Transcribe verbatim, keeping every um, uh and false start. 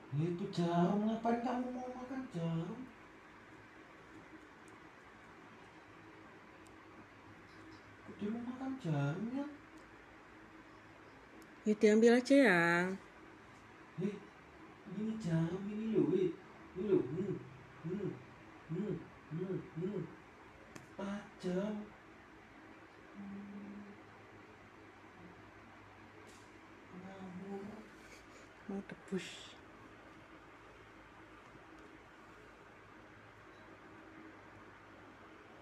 Itu jarum, ngapain kamu mau makan jarum? Kok dia mau makan jarum ya? Ya diambil aja ya. Hei, ini jarum ini loh, weh. Ini loh, hmm, hmm, hmm, hmm, hmm. Tajam. Ngawur. Mau tebus.